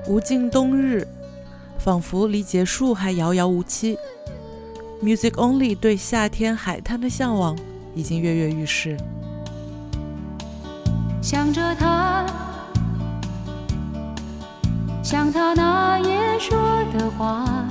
无尽冬日，仿佛离结束还遥遥无期。Music Only 对夏天海滩的向往已经跃跃欲试。 想着他，像他那夜说的话。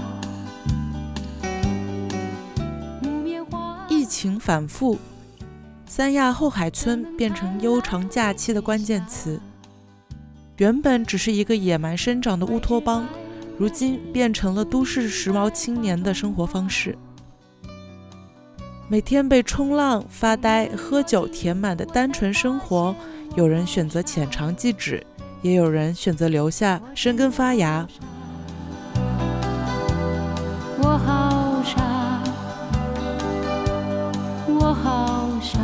疫情反复，三亚后海村变成悠长假期的关键词。原本只是一个野蛮生长的乌托邦，如今变成了都市时髦青年的生活方式。每天被冲浪、发呆、喝酒填满的单纯生活，有人选择浅尝即止，也有人选择留下生根发芽。 我好傻，我好傻。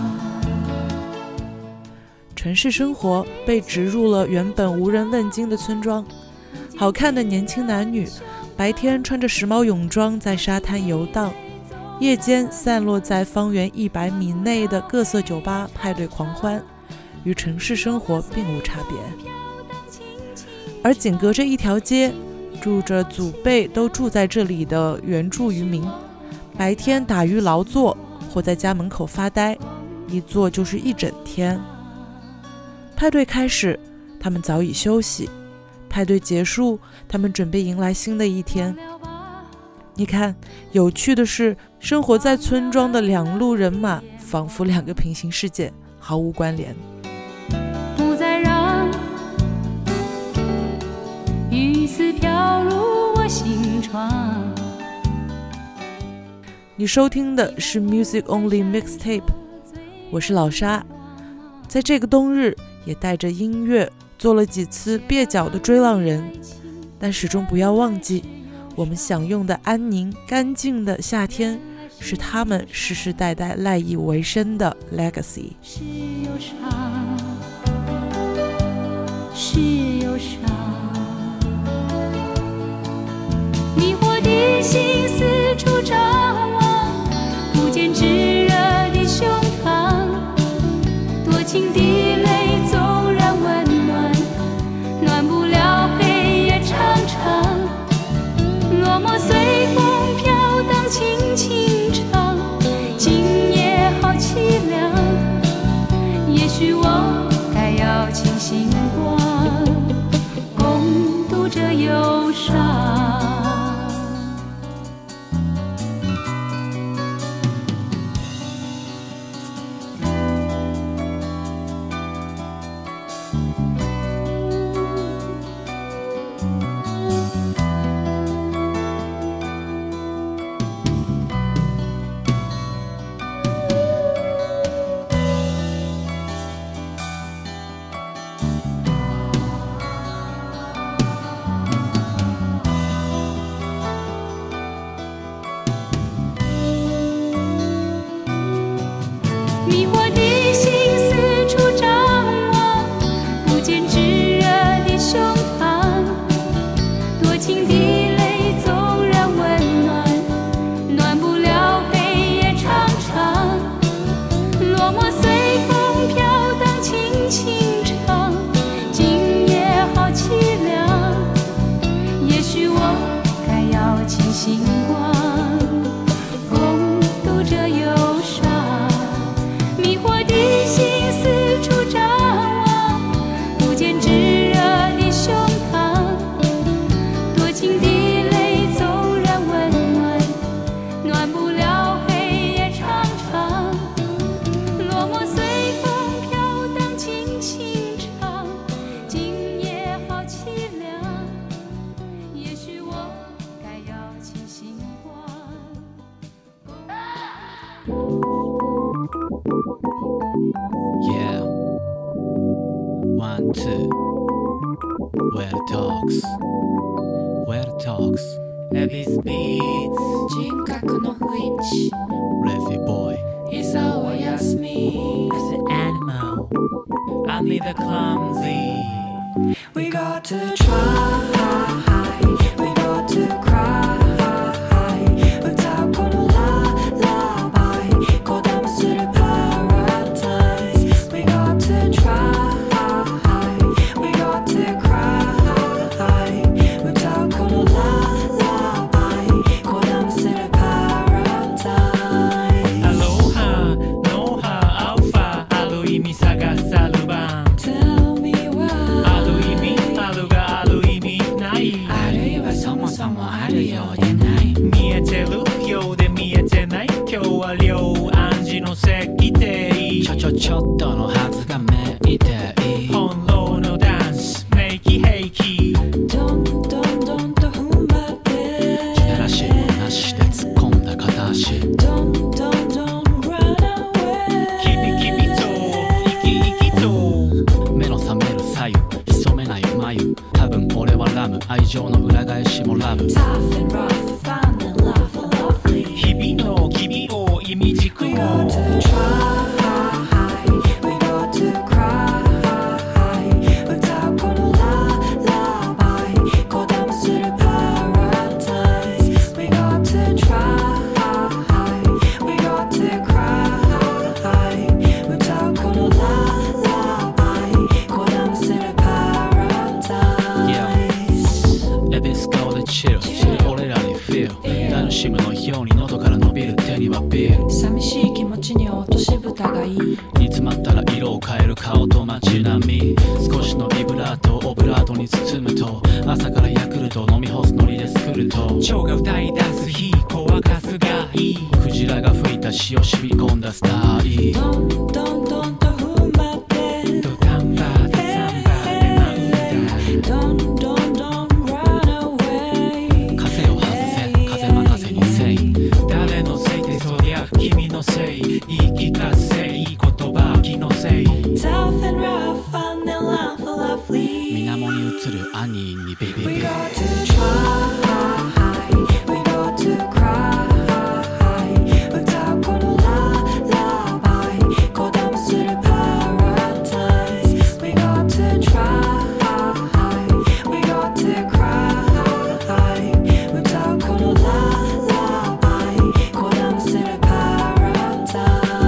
城市生活被植入了原本无人问津的村庄，好看的年轻男女白天穿着时髦泳装在沙滩游荡，夜间散落在方圆100米内的各色酒吧派对狂欢，与城市生活并无差别。而紧隔着一条街，住着祖辈都住在这里的原住渔民，白天打鱼劳作或在家门口发呆，一坐就是一整天。派对开始，他们早已休息；派对结束，他们准备迎来新的一天。你看，有趣的是，生活在村庄的两路人马仿佛两个平行世界，毫无关联。 不再让雨丝飘入我心窗。 你收听的是 Music Only Mixtape， 我是老沙。在这个冬日，也带着音乐做了几次蹩脚的追浪人，但始终不要忘记，我们享用的安宁干净的夏天，是他们世世代代赖以为生的 legacy。 是忧伤，是忧伤，迷惑的心四处张望，不见炙热的胸膛，多情的泪纵然温暖，暖不了黑夜长长。落寞随风飘荡，轻轻唱，今夜好凄凉。也许我该要清醒光，共度这忧伤。迷惑的心四处张望，不见炙热的胸膛，多情的泪纵然温暖，暖不了黑夜长长。落寞随风飘荡，轻轻唱，今夜好凄凉。也许我该要清醒光，共度这忧伤。迷惑的心四处张望，不见炙热的胸膛，多情的泪纵然温暖，暖不了黑夜长长。落寞随风飘荡，轻轻唱，今夜好凄凉。也许我该要清醒光。 Yeah. 1, 2. Where the talks. Where the talks. Elvis Beats 人格の不一致 Revy boy. 伊沢は休み As an animal, I need a clumsy We got to try, we got to cry. 웃다 보는 lullaby, 고담스를 paradise. We got to try, we got to cry. ちの席でいいちょっとのはずがめいていい本能のダンスメイキヘイキどんどんどんと踏ん張ってジェラシーもなしで突っ込んだ片足どんどんどん run away キビキビと生き生きと目の覚める左右潜めない眉多分俺はラム愛情の裏返しもラブ Tough and rough found and love lovely 日々の君を意味軸 We を got to try We got to cry 歌うこのラバイこだまする paradise We got to try We got to cry 歌うこのラバイこだまする paradise エビス顔でチルする俺らに feel 楽しむのように喉から伸びる手にはビール寂しい気持ちに落とし蓋がいい煮詰まったら色を変える顔と街並み少しのビブラートをオブラートに包むと朝からヤクルト飲み干すノリで作ると蝶が歌い出す日乾かすがいいクジラが吹いた潮染み込んだスタイどんどんどんと踏ん張ってドタンバーでサンバーで舞うんだどんどんどん run away 風を外せ風任せにせい誰のせいでそりゃ君のせい言い聞かせいい言葉気のせい Tough and rough found and love lovely 水面に映るアニーにビビ We ビ got to try We got to cry 歌うこのラバイこだまする paradise We got to try We got to cry 歌うこのラバイこだまする paradise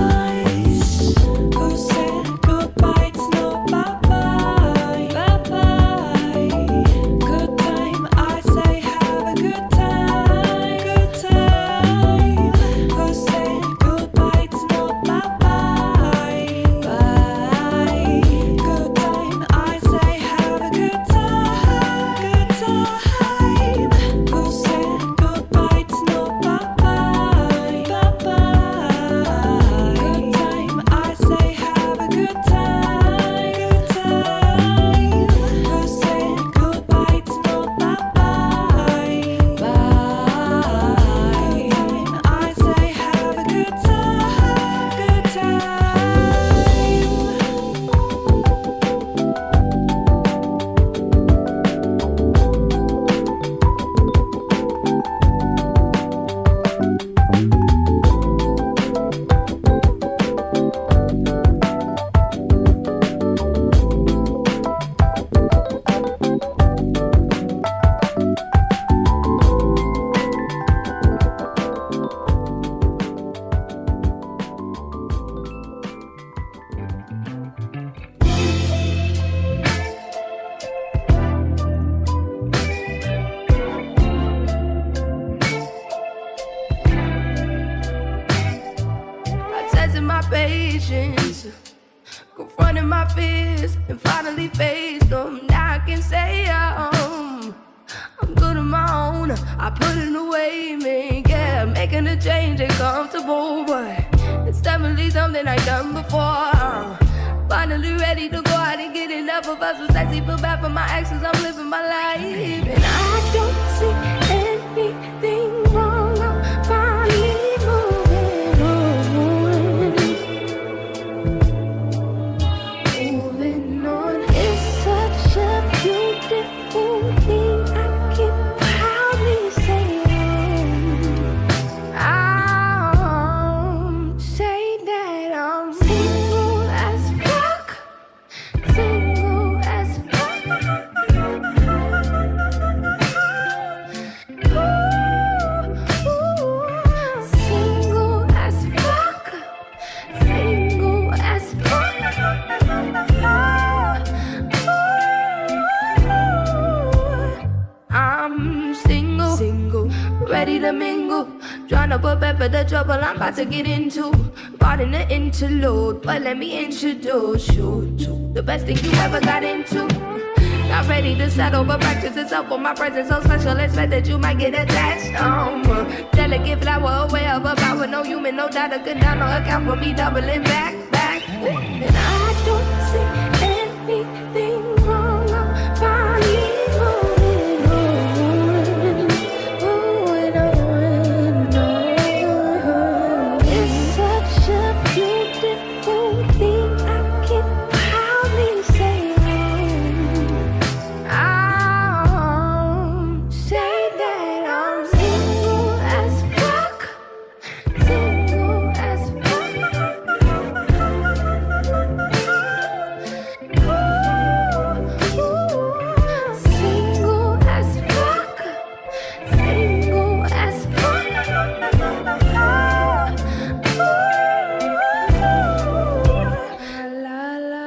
Who said goodbye it's no bye-bye Bye-bye Good time I say have a good time Good time Who said goodbye it's no bye-bye Bye Good time I say have a good time Good time Who said goodbye it's no bye-bye Bye-bye Good time I say have a good time Good time Who said goodbye it's no bye-bye Bye Good time I say have a good time Good time I tested my patience, confronted my fears, and finally faced them. Now I can say I'm good on my own. I put it away, man. Yeah, making a change ain't comfortable, but it's definitely something I've done before. Finally ready to go out and get enough of us. Was sexy, feel bad for my exes. I'm living my life, and I don't see anything wrong. I'm finally moving on. Moving on. It's such a beautiful thing. I can proudly say I'm say that I'm single as fuck. Single as fuck. Ooh, ooh. Single as fuck. Single as fuck. Ooh. I'm single, ready to mingle. Trying to prepare for the trouble I'm about to get into. Pardon the interlude, but let me introduce you to the best thing you ever got into. Not ready to settle, but practice itself for my presence so special. Expect that you might get attached. Delicate flower aware of a power. No human, no data could down or account for me doubling back. And I don't see anything wrong. I'm finally moving on. It's such a beautiful thing. I can proudly say I'll say that I'm single as fuck. Single as fuck. Single as fuck. Single as fuck. La la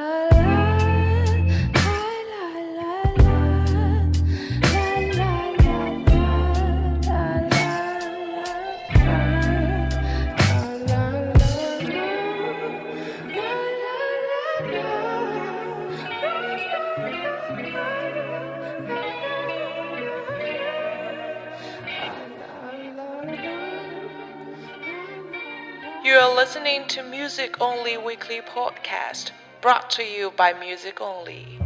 You are listening to Music Only Weekly Podcast, brought to you by Music Only.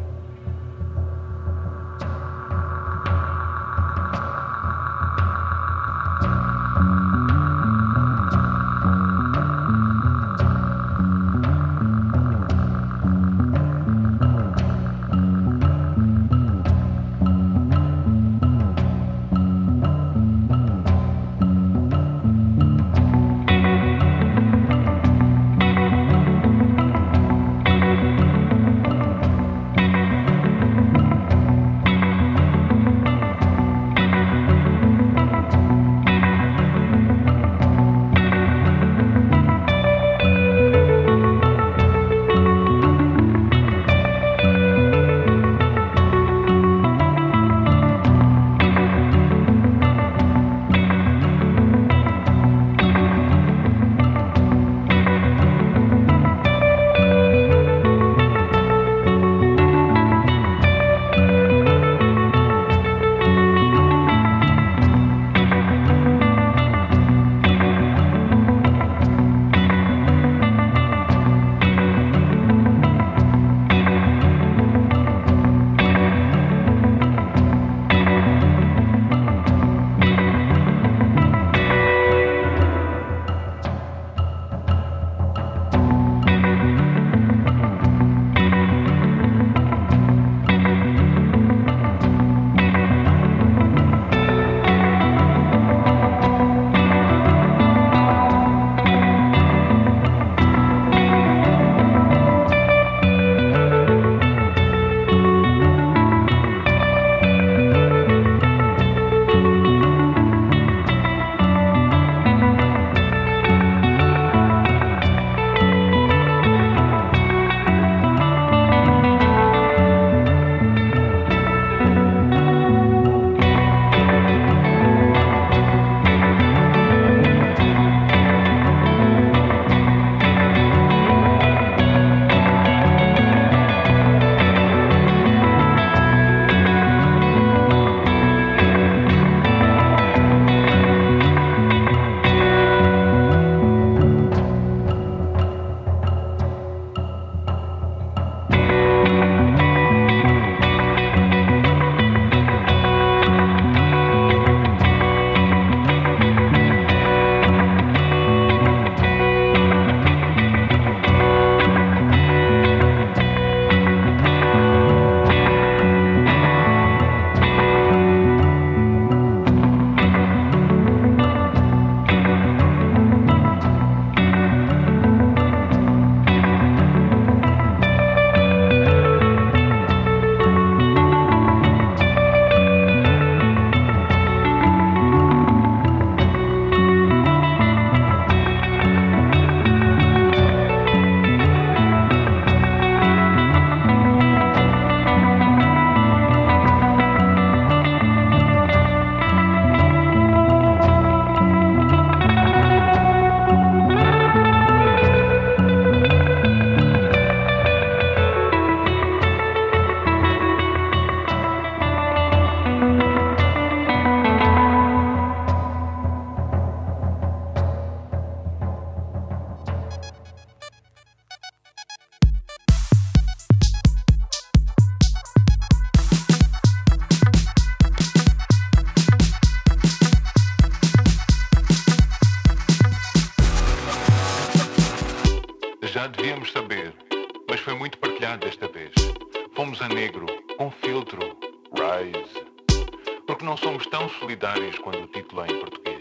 Já devíamos saber, mas foi muito partilhado desta vez. Fomos a negro, com filtro, Rise. Porque não somos tão solidários quando o título é em português.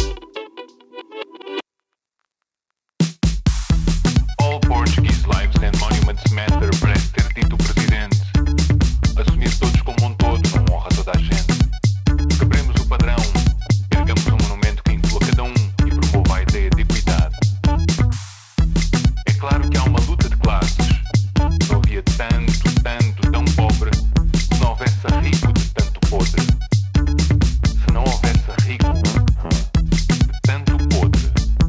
All Portuguese lives and monuments matter, parece ter dito o presidente. Assumir todos como um todo não honra toda a gente. Quebremos o padrão, ergamos um monumento que inclua cada um e promova a ideia de equidade. É claro que há uma luta de classes. Não havia tanto, tão pobre, se não houvesse rico de tanto podre. Se não houvesse rico de tanto podre.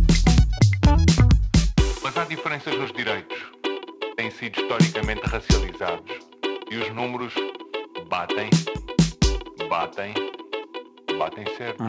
Mas há diferenças nos direitos. Têm sido historicamente racializados. E os números batem certos.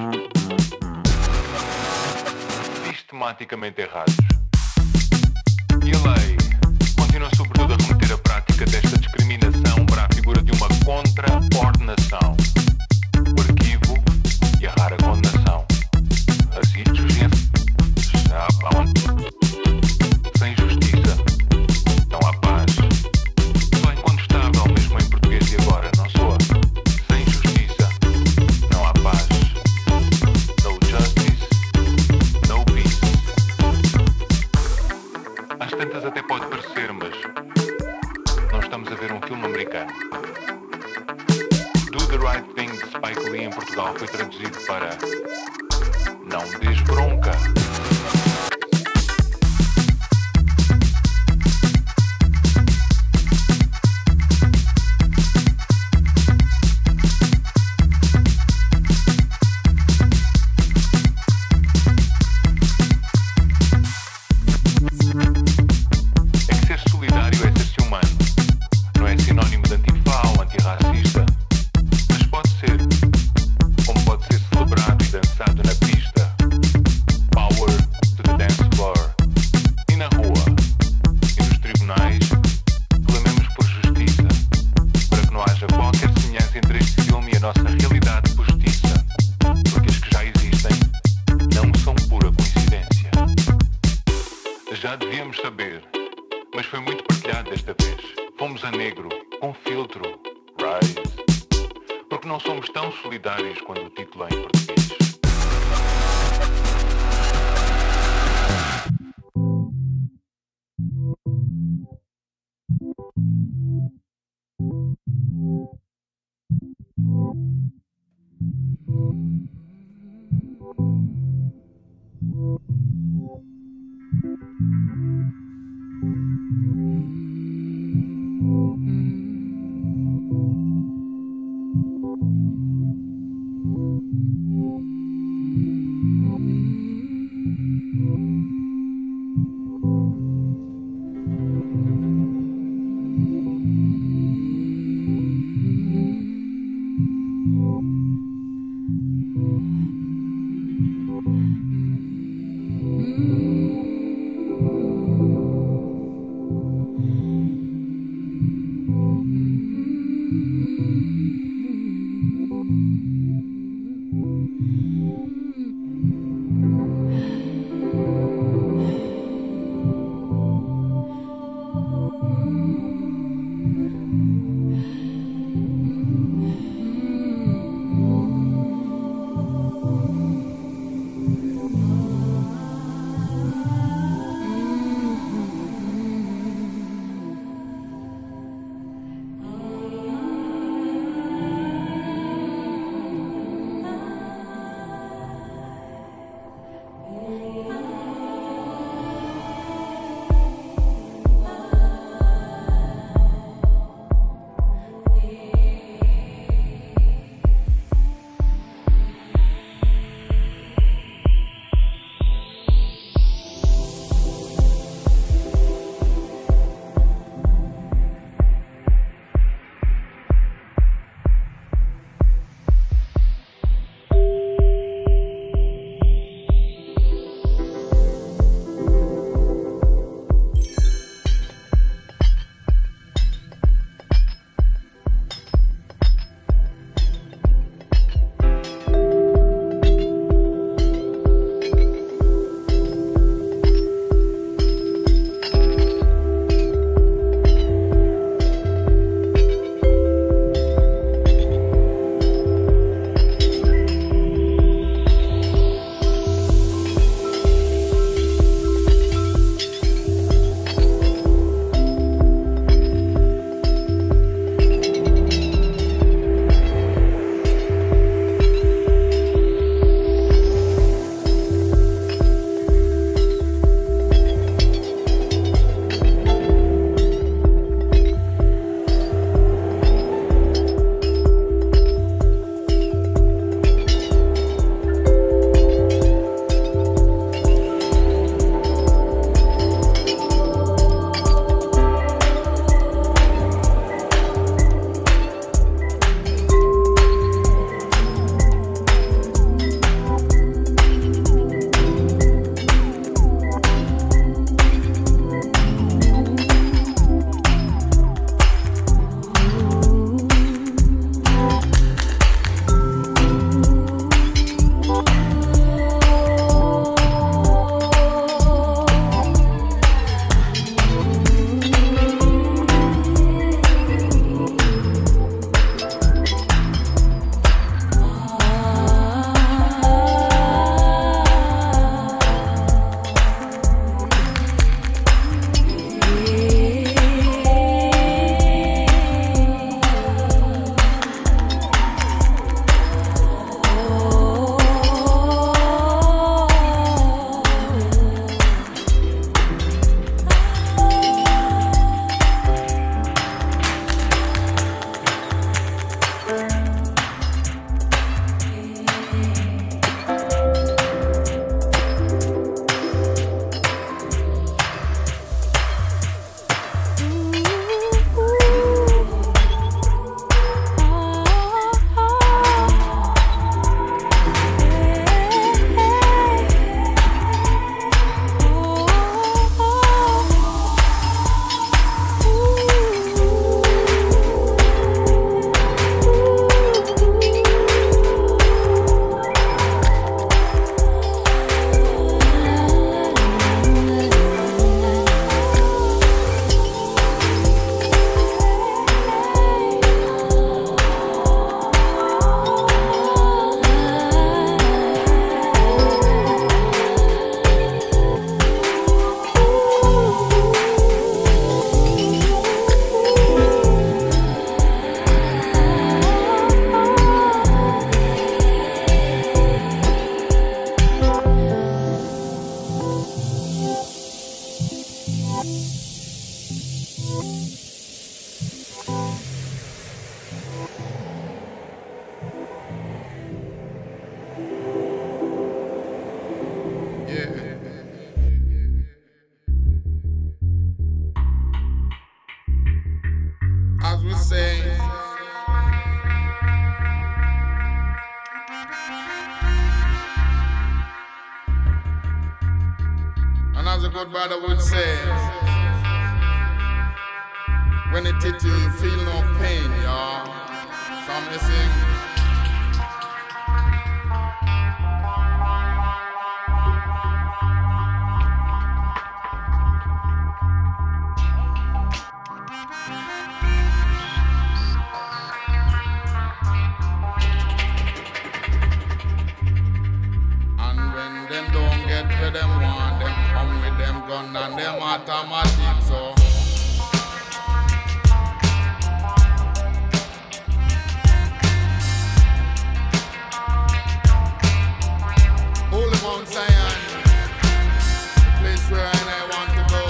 Sistematicamente errados. E a lei continua sobretudo a remeter a prática desta discriminação para a figura de uma contra-ordenação, o arquivo e a rara condenação. Assim, já sem justiça não há paz. Só incontestável, mesmo em português e agora, não soa. Sem justiça não há paz. No justice, no peace. Às tantas até pode parecer, mas não estamos a ver um filme americano. Do the Right Thing de Spike Lee em Portugal foi traduzido para Não Dês Bronca. Já devíamos saber, mas foi muito partilhado desta vez. Fomos a negro, com filtro, Rise. Porque não somos tão solidários quando o título é em português. As we say, and as a good brother would say, when it hit you, you feel no pain, y'all. So I'm listening. Them want them come with them gun and them automatic, so Holy Mount Zion, the place where I want to go.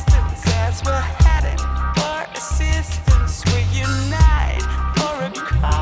We're heading for assistance. We unite for a cause.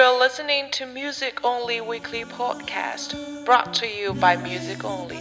You're listening to Music Only Weekly Podcast, brought to you by Music Only.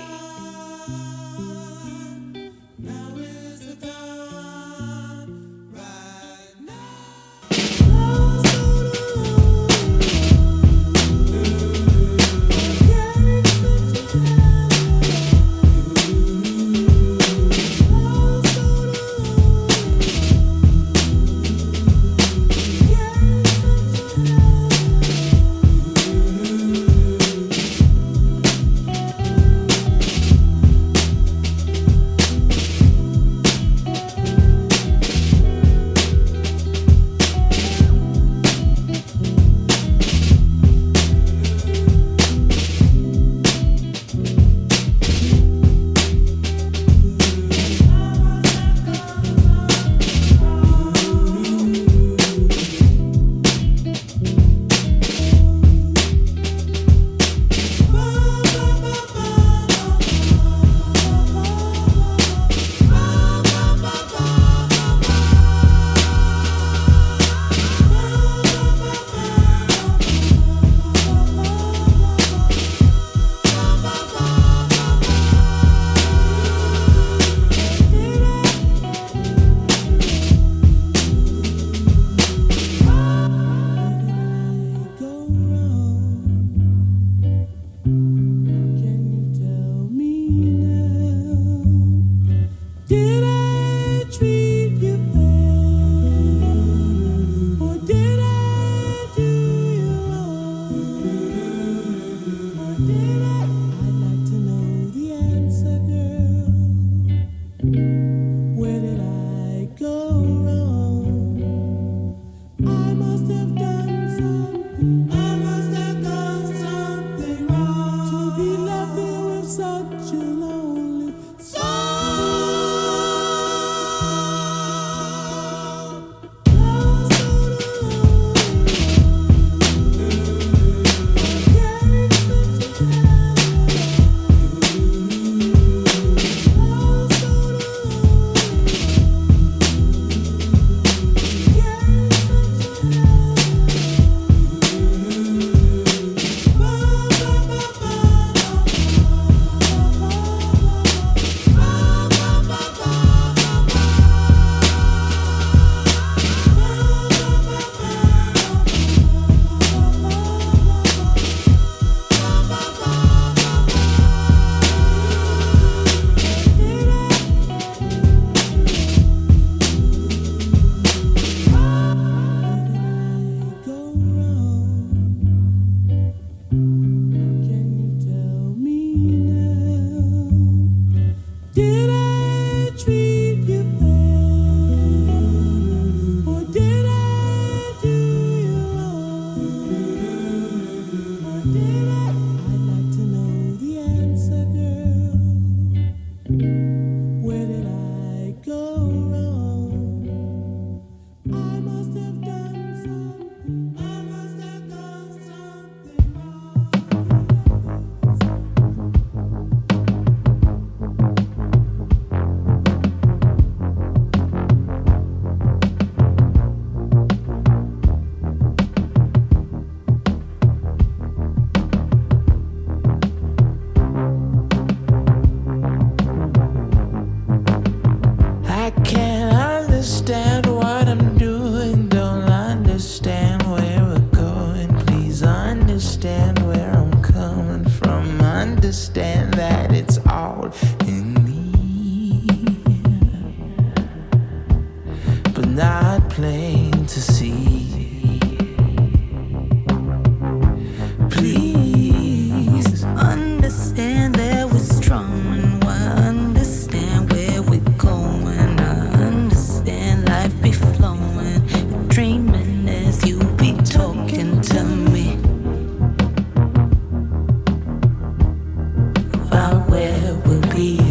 Where we'll be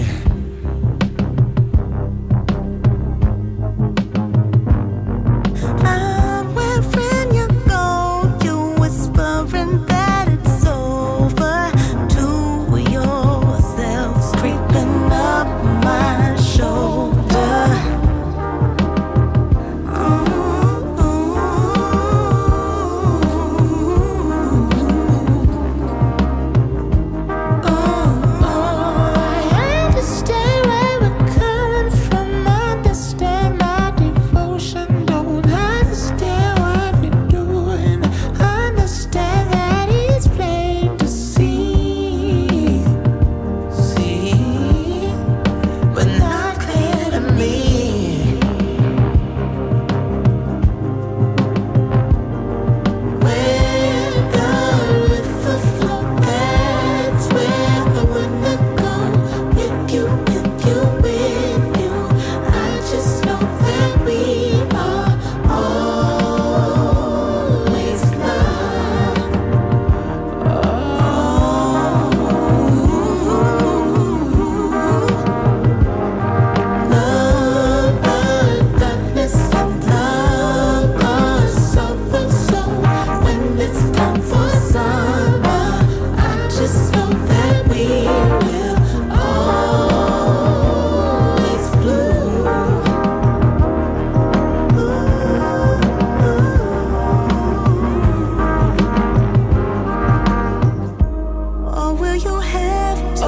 will you have to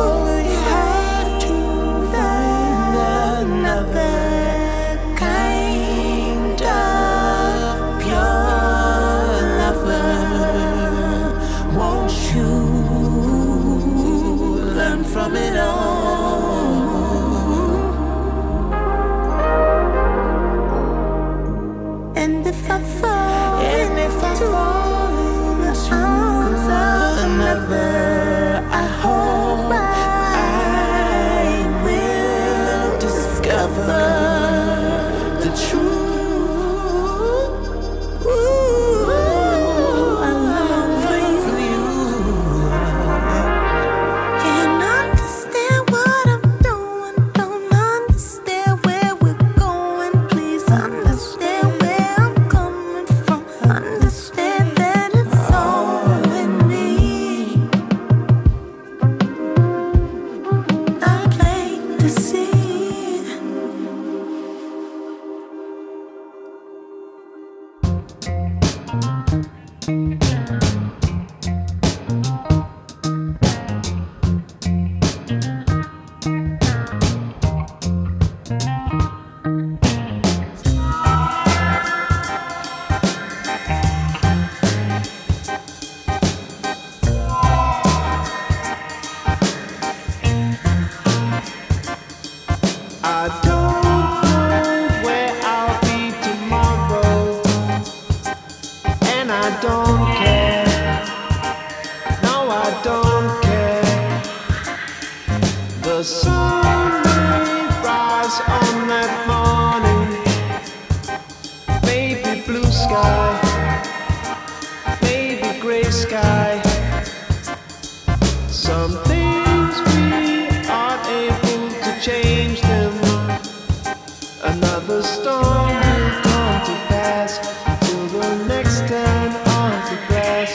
find another kind of pure lover? Won't you learn from it all? And if I fall into the arms of another, I hope I will discover the truth. I long for you. Can't understand what I'm doing, don't understand where we're going. Please understand where I'm coming from. Understand that it's all in me. I plain to see. I don't know where I'll be tomorrow, and I don't care. No, I don't care. The sun may rise on that morning, maybe blue sky, maybe gray sky. Some things we aren't able to change them. Another storm will come to pass till the next turn of the grass.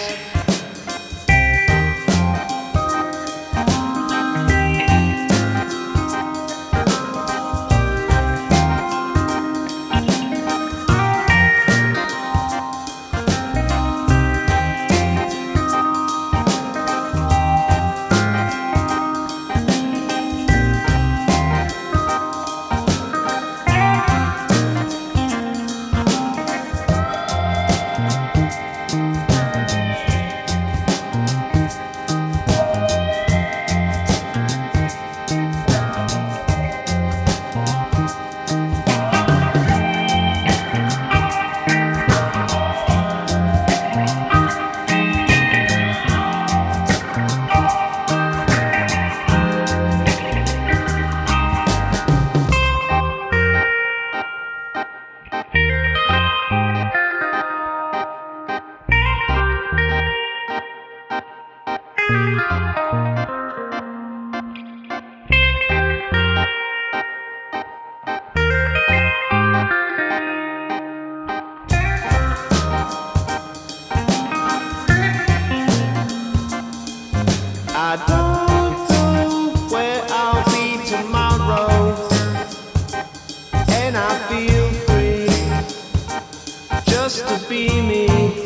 I don't know where I'll be tomorrow, and I feel free just to be me.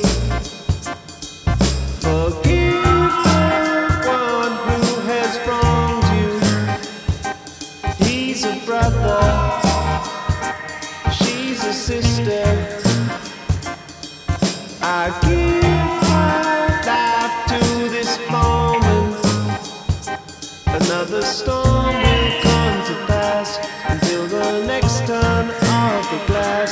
Forgive the one who has wronged you. He's a brother, she's a sister. I give my life to this moment. Another storm will come to pass until the next turn of the glass.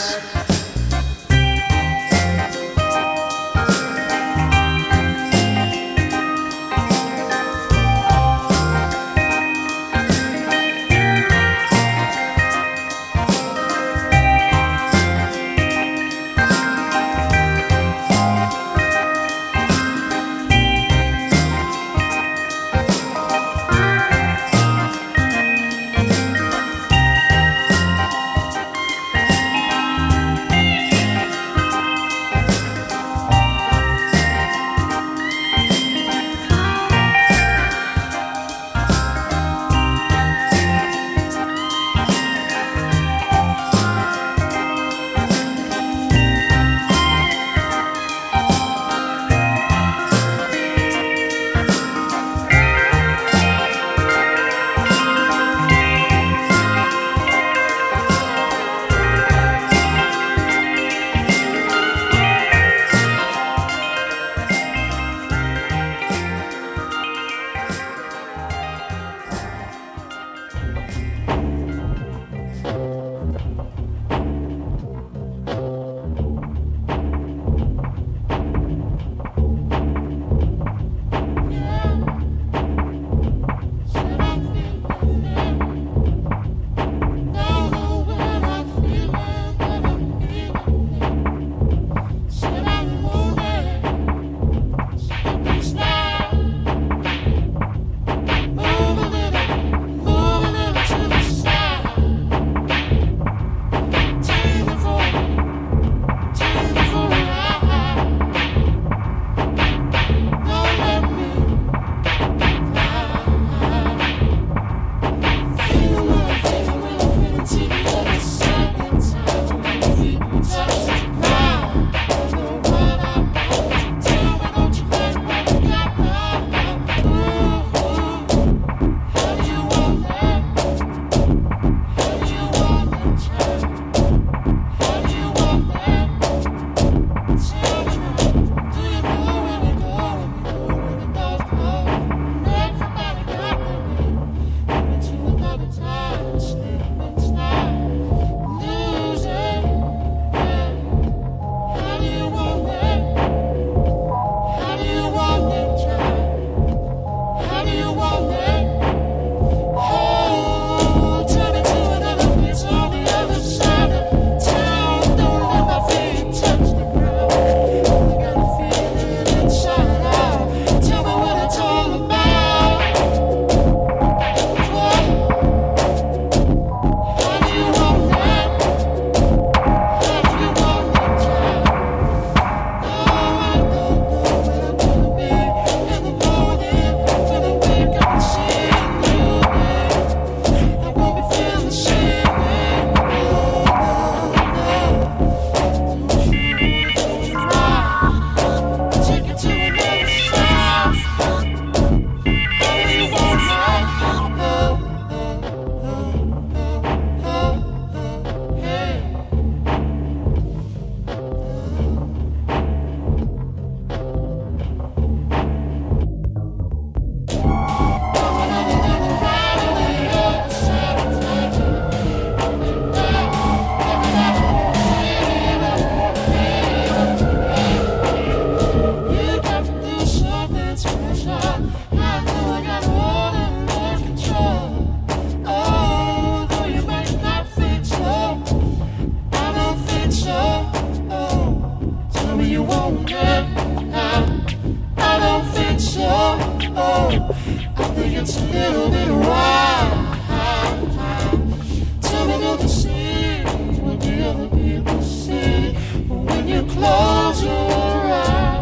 It'll be a while till we get to see what the other people see when you close your eyes.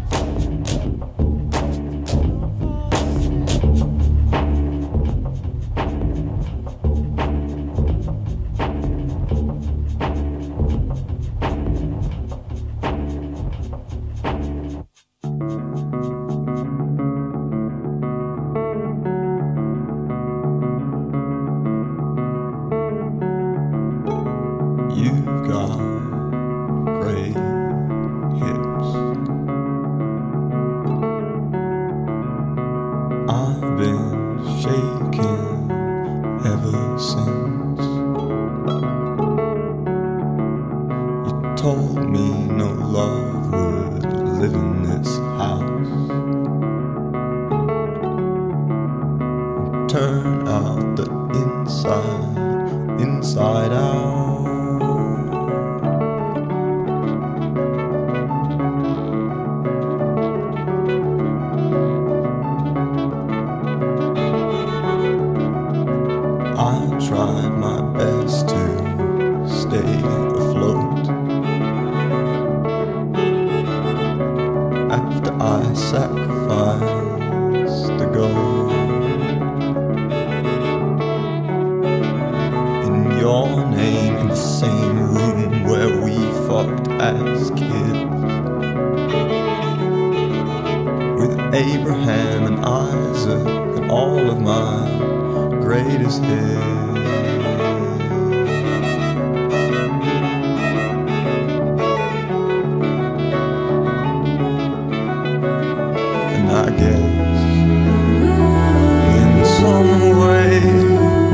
You've got great hips. I've been shaking ever since you told me no love would live in this house. Turn out the inside out. I tried my best to stay afloat after I sacrificed the gold. In your name, in the same room where we fucked as kids, with Abraham and Isaac and all of my greatest hits. And I guess in some way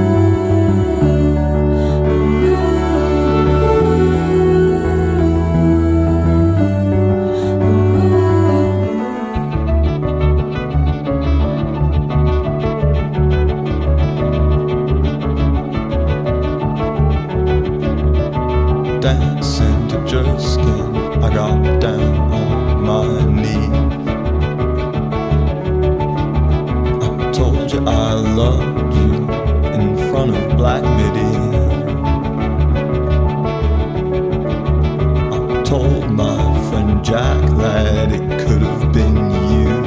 dancing to Just Skin, I got down on my knees. I told you I loved you in front of Black Midi. I told my friend Jack that it could have been you.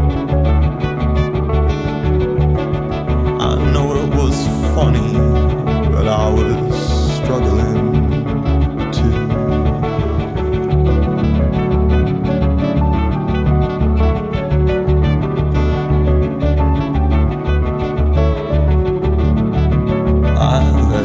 I know it was funny, but I was struggling. I let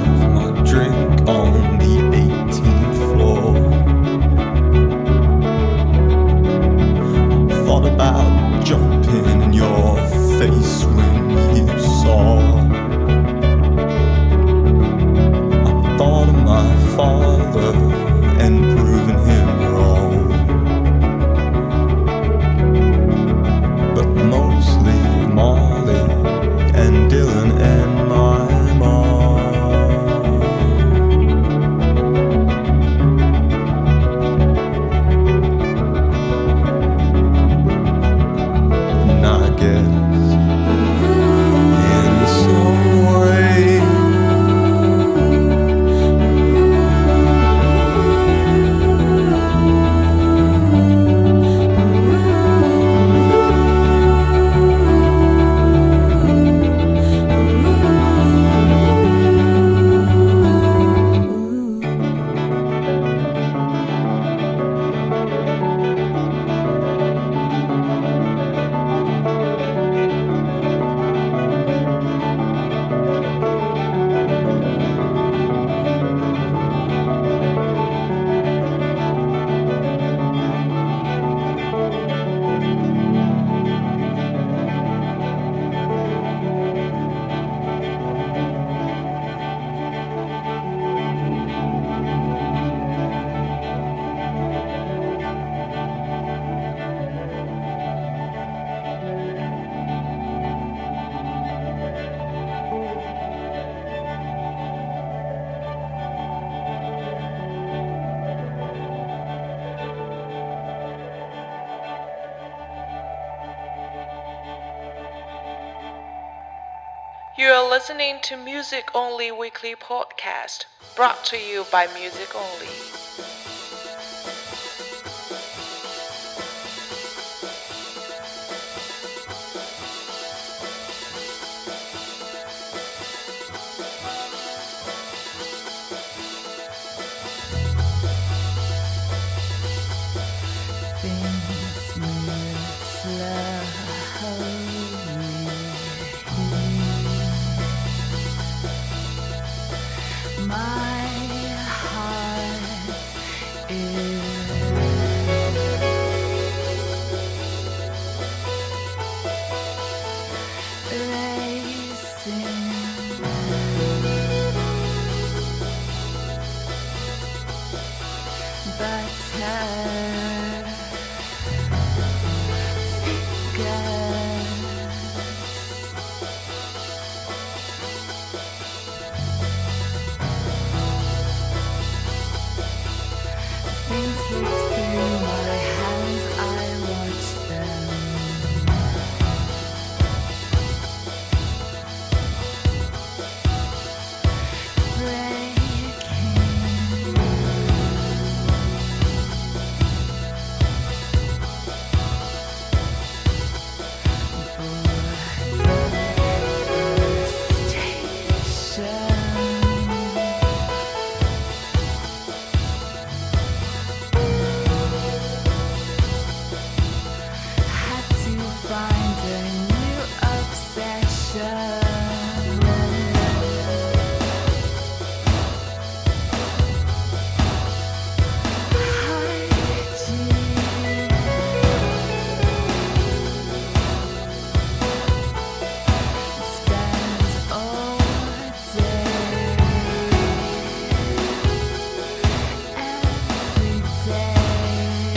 You're listening to Music Only Weekly Podcast, brought to you by Music Only. Things move slowly. My heart is racing. But her things slip through my hands, I watch them had to find a new obsession. Spend all day, every day.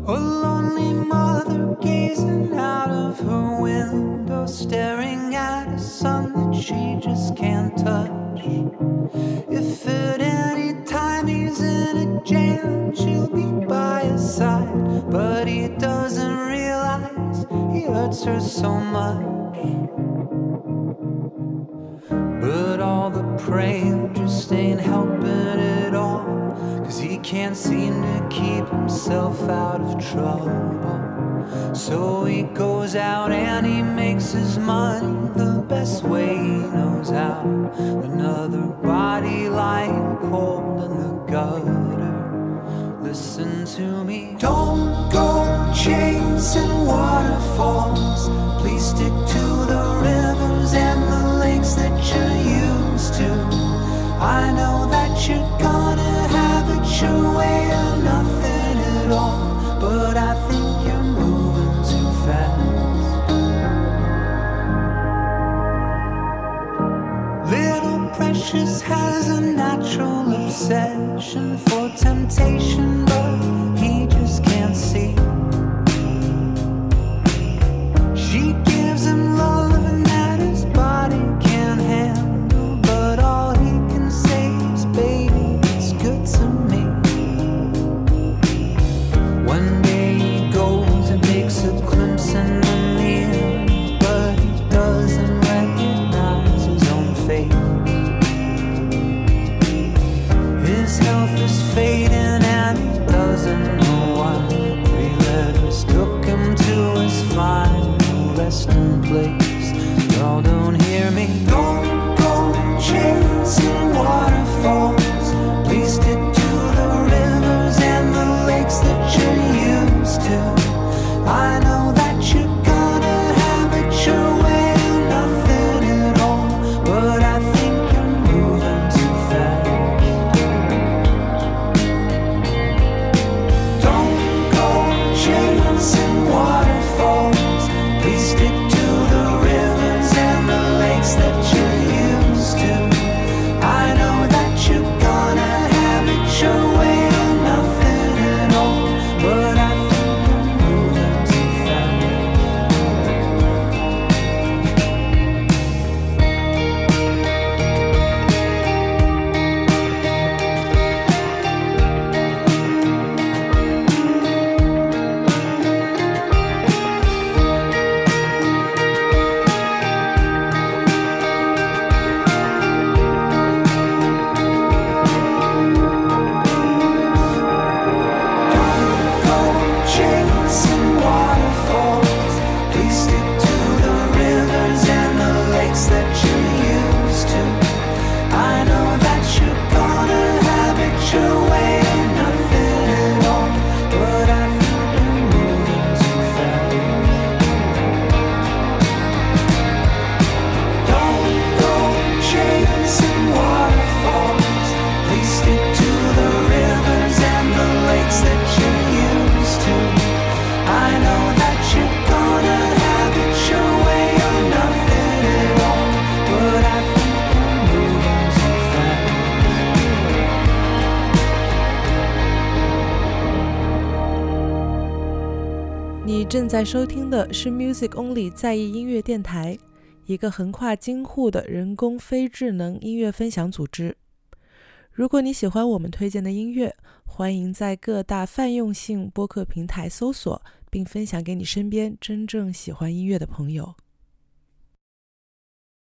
A lonely mother gazing out of her window, staring at a son that she just can't touch. If at any time he's in a jam, she'll be by his side, but he doesn't realize he hurts her so much. But all the praying just ain't helping at all, 'cause he can't seem to keep himself out of trouble. So he goes out and he makes his money the best way he knows how. Another body lying cold in the gutter. Listen to me. Don't go chasing waterfalls. Please stick to the rivers and the lakes that you're used to. I know that you're gonna have it your way or nothing at all, but I think you're moving too fast. Little Precious has a natural obsession for temptation, but he just can't see. She gives him love and that his body can't handle, but all he can say is, baby, it's good to me. One day he goes and takes a glimpse in the mirror, but he doesn't recognize his own face. His health is fading and he doesn't know why. 3 letters took him to his final resting place. Y'all don't hear me. Don't go chasing waterfalls. Please stick to the rivers and the lakes that you're used to. I know that you're gonna have it your way or nothing at all, but I think you're moving too fast. Don't go chasing waterfalls. Please stick to the rivers and the lakes that you're used to. I know that you're gonna have it your way or nothing at all, but I think you're moving too fast. 你正在收听的是 Music Only 在意音乐电台，一个横跨京沪的人工非智能音乐分享组织。如果你喜欢我们推荐的音乐，欢迎在各大泛用性播客平台搜索，并分享给你身边真正喜欢音乐的朋友。